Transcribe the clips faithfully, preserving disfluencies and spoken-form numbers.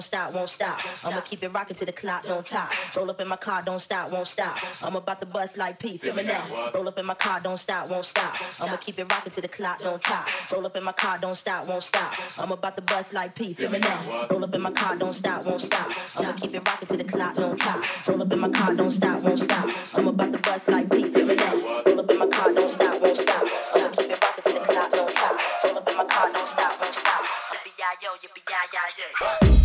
stop, won't stop. I'ma keep it rocking till the clock don't top. Roll up in my car, don't stop, won't stop. I'm about to bust like P, feel me now. Roll up in my car, don't stop, won't stop. I'ma keep it rocking till the clock don't top. Roll up in my car, don't stop, won't stop. I'm about to bust like P, feel me now. Roll up in my car, don't stop, won't stop. I'ma keep it rocking till the clock don't top. Roll up in my car, don't stop, won't stop. I'm about to bust like P, feel me now. Roll up in my car, don't stop, won't stop. I'ma keep it rocking till the clock don't top. Roll up in my car, don't stop, won't stop. Yippee-yi-yo, yippee-yi-yi-yo.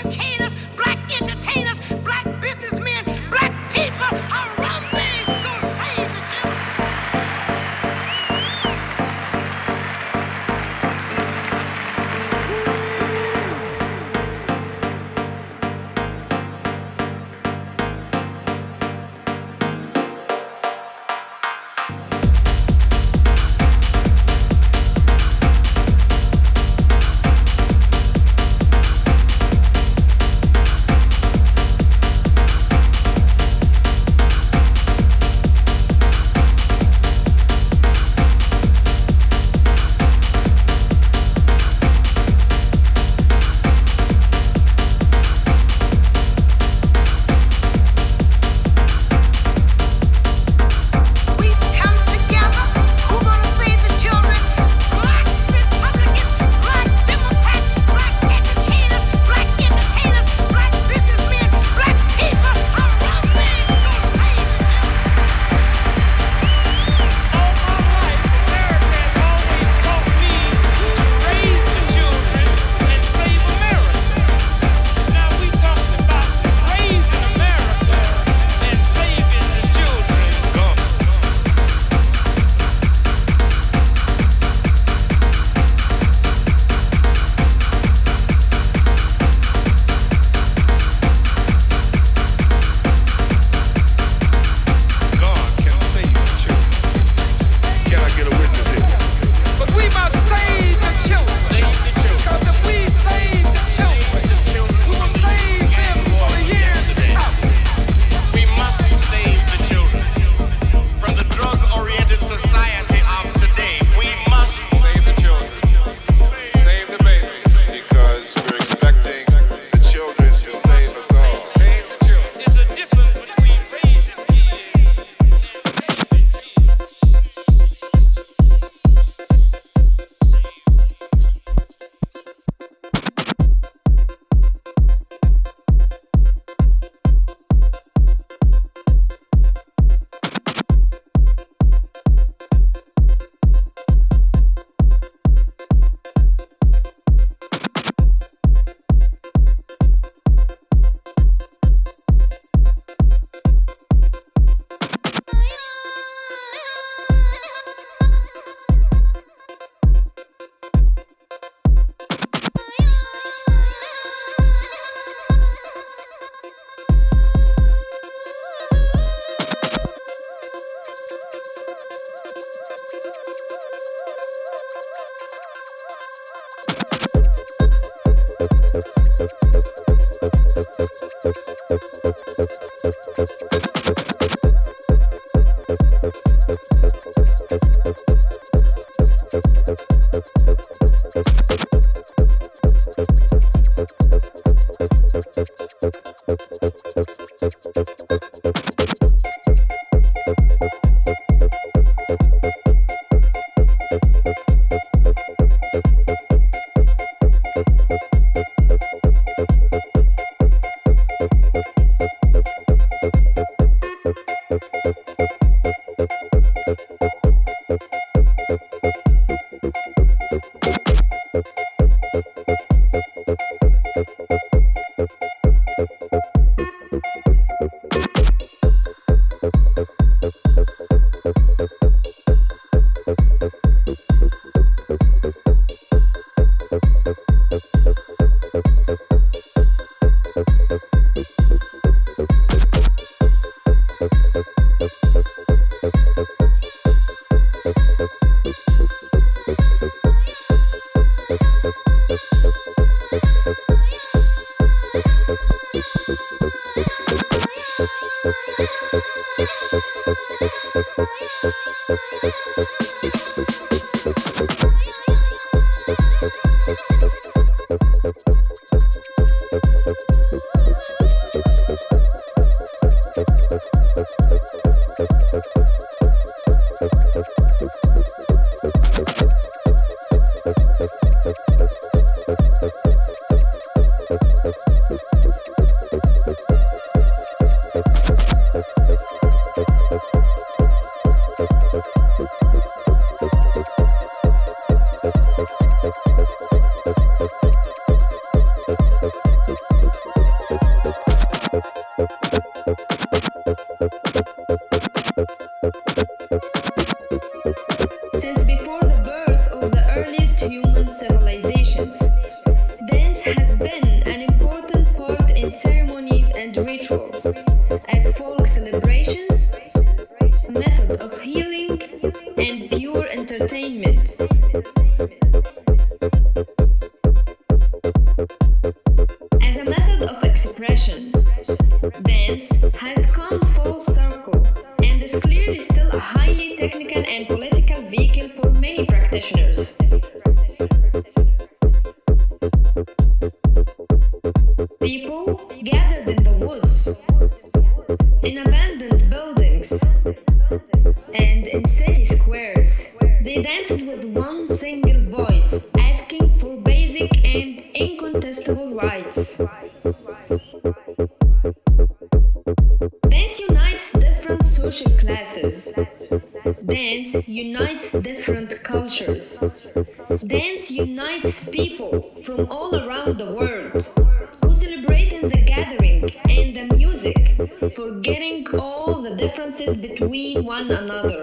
educators, black entertainers, black businessmen, black people around me gonna save the children. Since before the birth of the earliest human civilizations, dance has been an important part in ceremonies and rituals, as folk celebrations, method of healing, and pure entertainment. As a method of expression, dance has come full circle and is clearly still a highly technical and political vehicle for many practitioners. People gathered in the woods, in abandoned buildings, and in city squares. They danced with one single voice, asking for basic and incontestable rights. Dance unites different social classes. Dance unites different cultures. Dance unites people from all around the world who celebrate in the gathering and the music, forgetting all the differences between one another.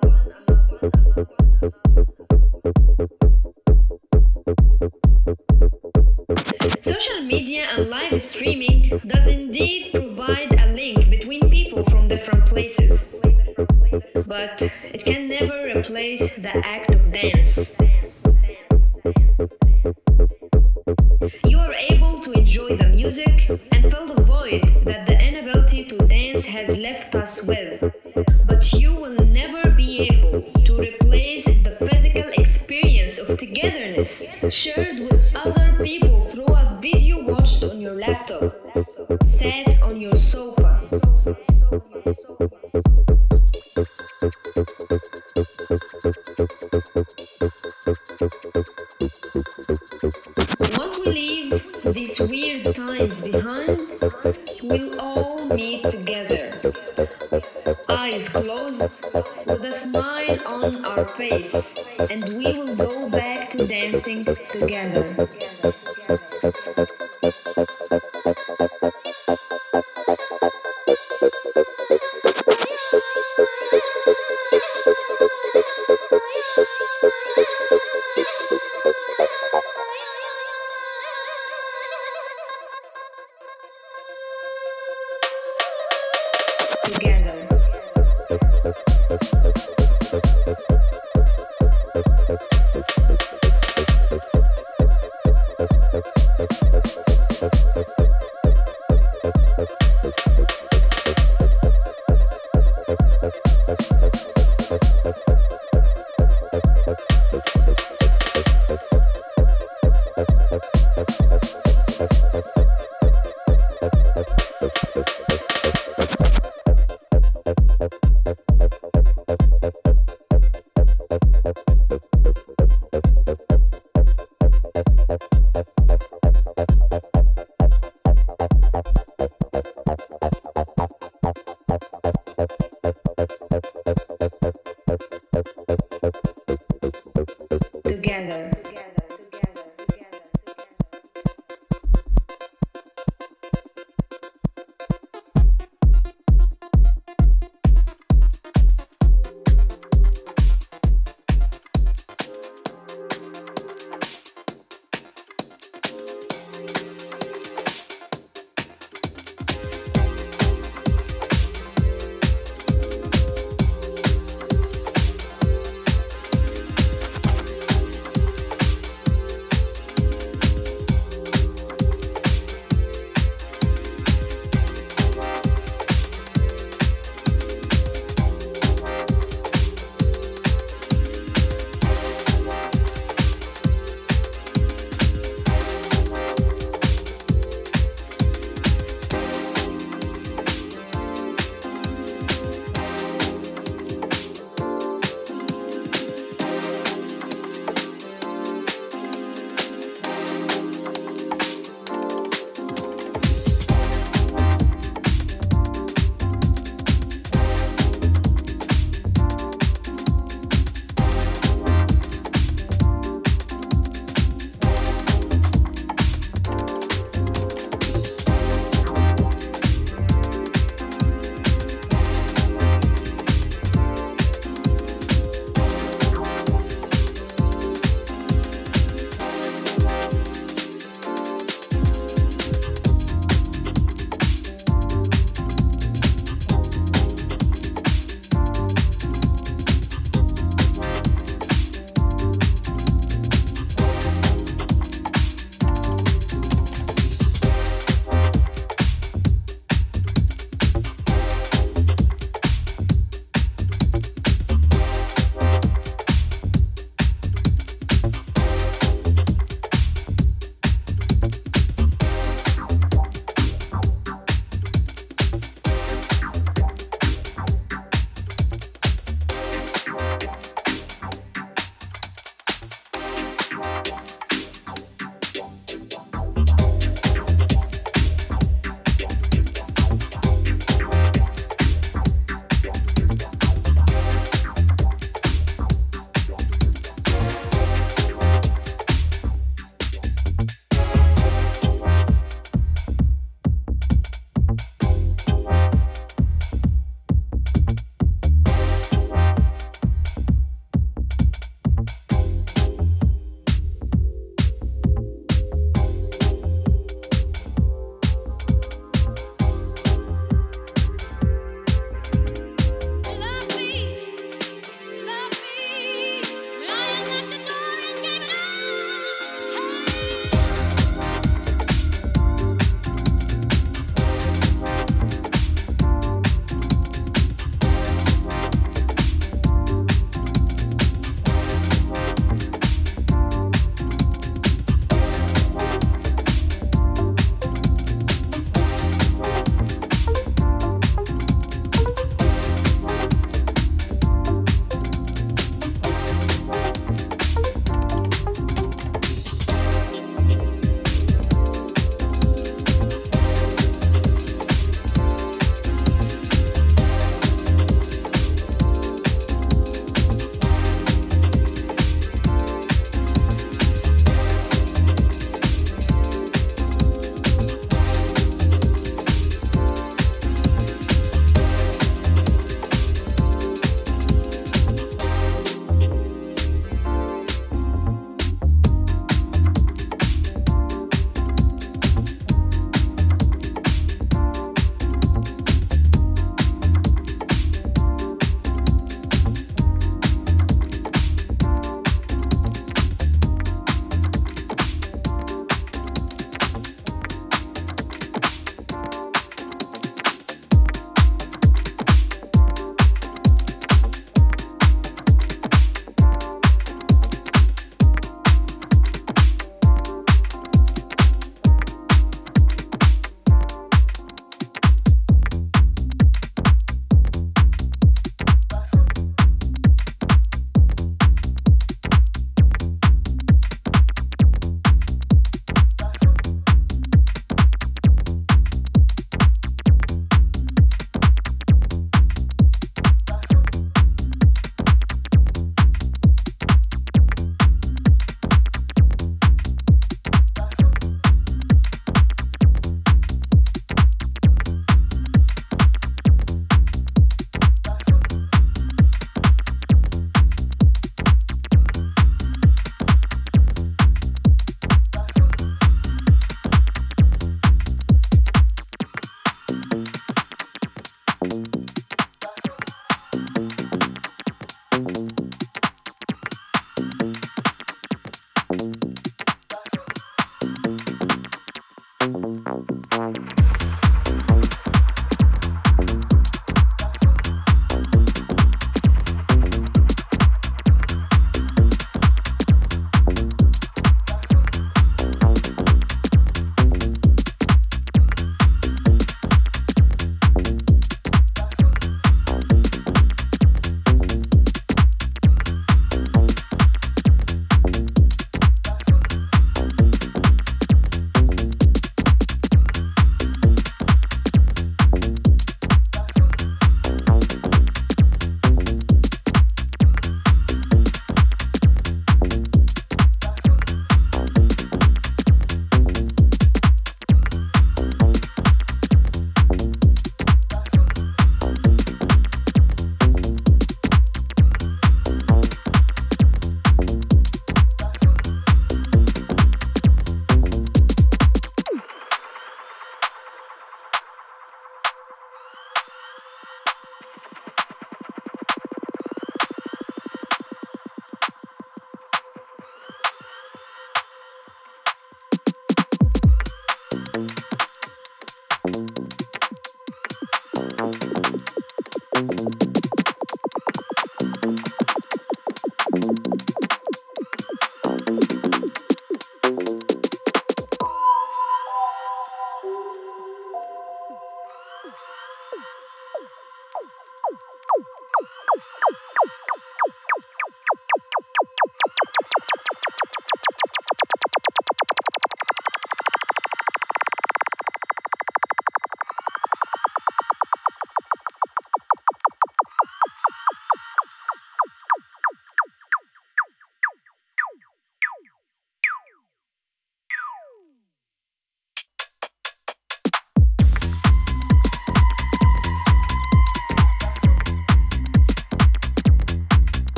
Social media and live streaming does indeed provide a link between people from different places, but it can never replace the act of dance. You are able to enjoy the music and fill the void that the inability to dance has left us with, but you will never be able to replace the physical experience of togetherness shared with other people through a video watched on your laptop, sat on your sofa. Once we leave these weird times behind, we'll all meet together, eyes closed, with a smile on our face, and we will go back to dancing together. Together. Together.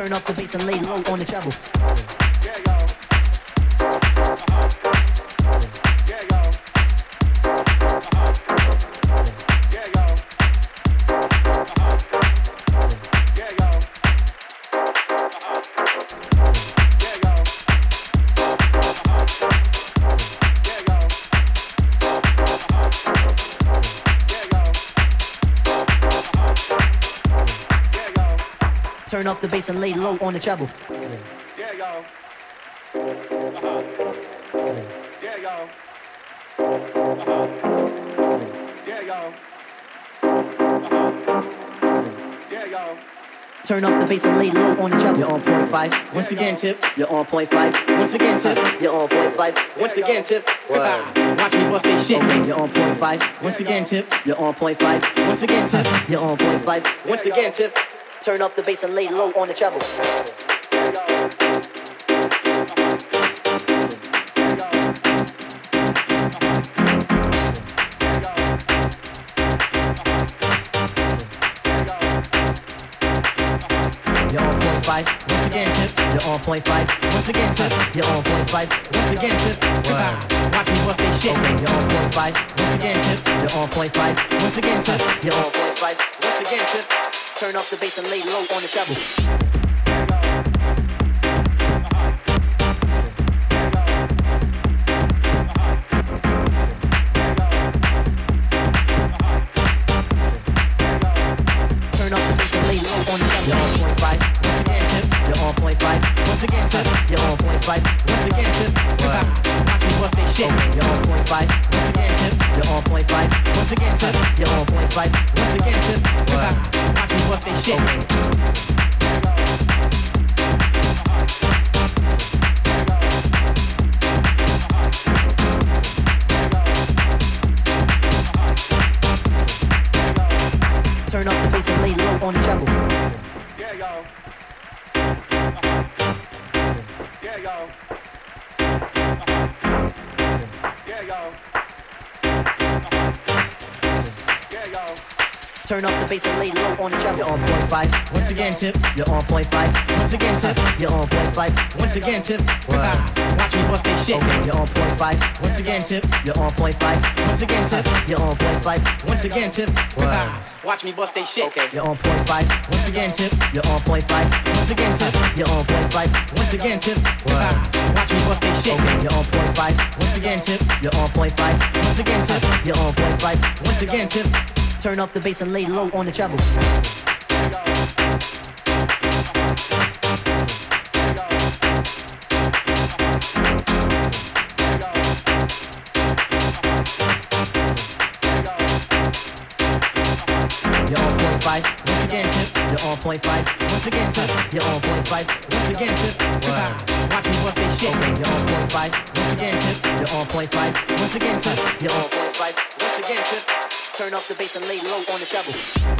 Turn up the bass and lay low on the treble. Turn up the bass and lay low on the treble. Yeah, y'all. Uh-huh. Yeah, y'all. Uh-huh. Yeah, y'all. Uh-huh. Yeah, y'all. Turn up the bass and lay low on the treble. You're on point five. Once again, tip. You're on point five. Once again, tip. You're on point five. Once again, tip. Watch me bust they shit. Okay, you're on point five. Once again, tip. You're on point five. Once again, tip. You're on point five. Once again, tip. Turn up the bass and lay low on the treble. You're on point five. Once again, tip. You're on point five. Once again, tip. You're on point five. Once again, tip. Watch me bust they shit. Okay, you're on point five. Once again, tip. You're on point five. Once again, tip. You're on point five. Once again, tip. Turn up the bass and lay low on the treble. Turn up the bass and lay low on the treble. You're on point five. Once again, tip. You're on point five. Once again, tip. You're on point five. Once again, tip. Watch me bust they shit. Okay, you're on point five. Once again, tip. You're on point five. Once again, tip. You're on point five. Once again, tip. Watch me bust they shit. Turn up the bass and lay low on the treble. Yeah, y'all. Uh-huh. Yeah, y'all. Uh-huh. Yeah, y'all. Uh-huh. Yeah, y'all. Turn up the bass and lay low on the treble. You're on point five. Once again, tip. You're on point five. Once again, tip. You're on point five. Once again, tip. Watch me bust they shit. Okay, you're on point five. Once again, tip. You're on point five. Once again, tip. You're on point five. Once again, tip. Watch me bust they shit. Okay, you're on point five. Once again, tip. You're on point five. Once again, tip. You're on point five. Once again, tip. Watch me bust they shit. Okay, you're on point five. Once again, tip. You're on point five. Once again, tip. You're on point five. Once again, tip. Turn up the bass and lay low on the treble. You're on point five. Once again, tip. You're on point five. Once again, tip. You're on point five. Once again, tip. Watch me bust they shit. Okay, you're on point five. Once again, tip. You're on point five. Once again, tip. You're on point five. Once again, tip. Turn up the bass and lay low on the treble.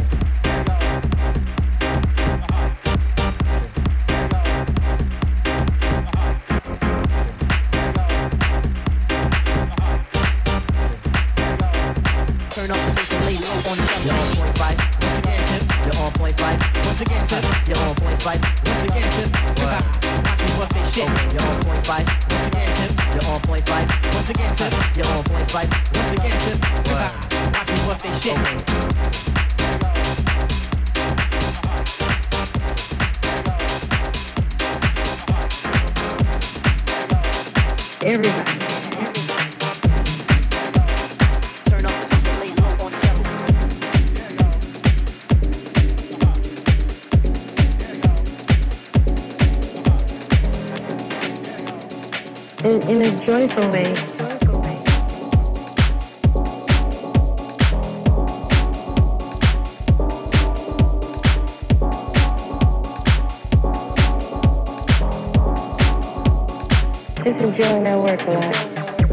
Turn up the bass and lay low on the treble. You're on point five. Once again, tip. You're on point five. Once again, tip. You're on point five. Once again, tip. Watch me bust they shit. Okay, you're on point five. Once again, tip. You're on point five. Once again, tip. You're on point five. Once again, tip. Watch me bust they shit. Everybody. Turn up the bass and lay low on the treble. In, in a joyful way. Just enjoying their work a lot.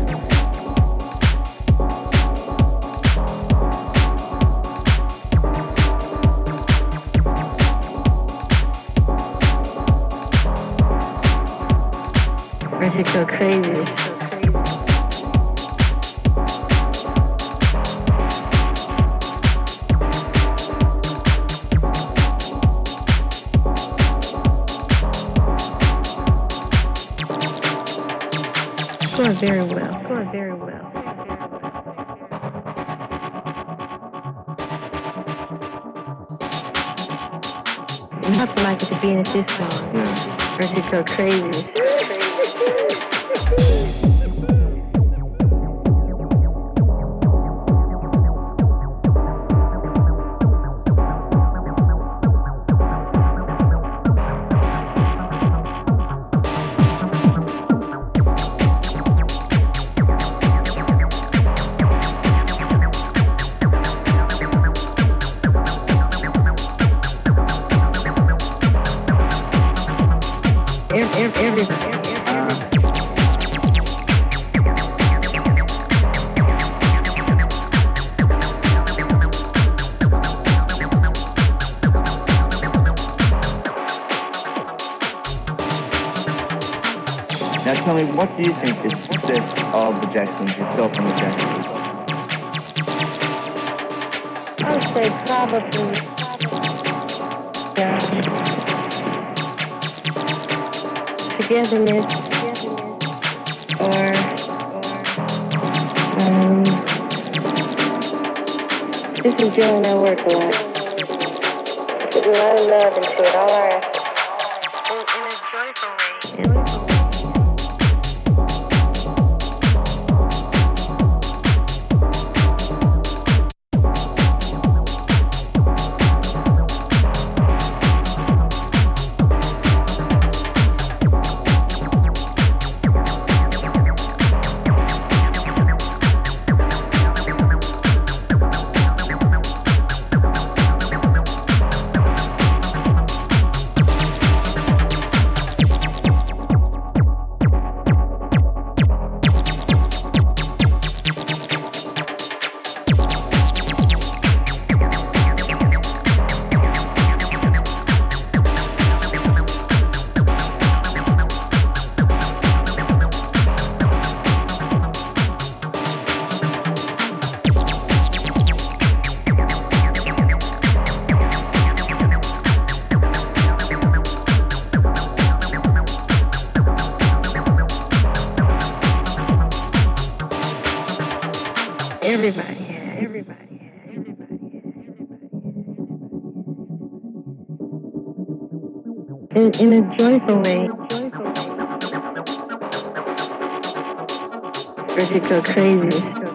I just go crazy. Score very well. Score very well. You have to like it to be in a system, or else you go crazy. Everybody. Now tell me, what do you think is the success of the Jacksons, yourself and the Jacksons? I would say probably um, togetherness or um, just enjoying our work a lot. Put a lot of love into it, all our effort. In a joyful way. Yeah. Everybody, yeah, everybody, yeah, everybody, yeah, everybody. In, in a joyful way. Or to go crazy.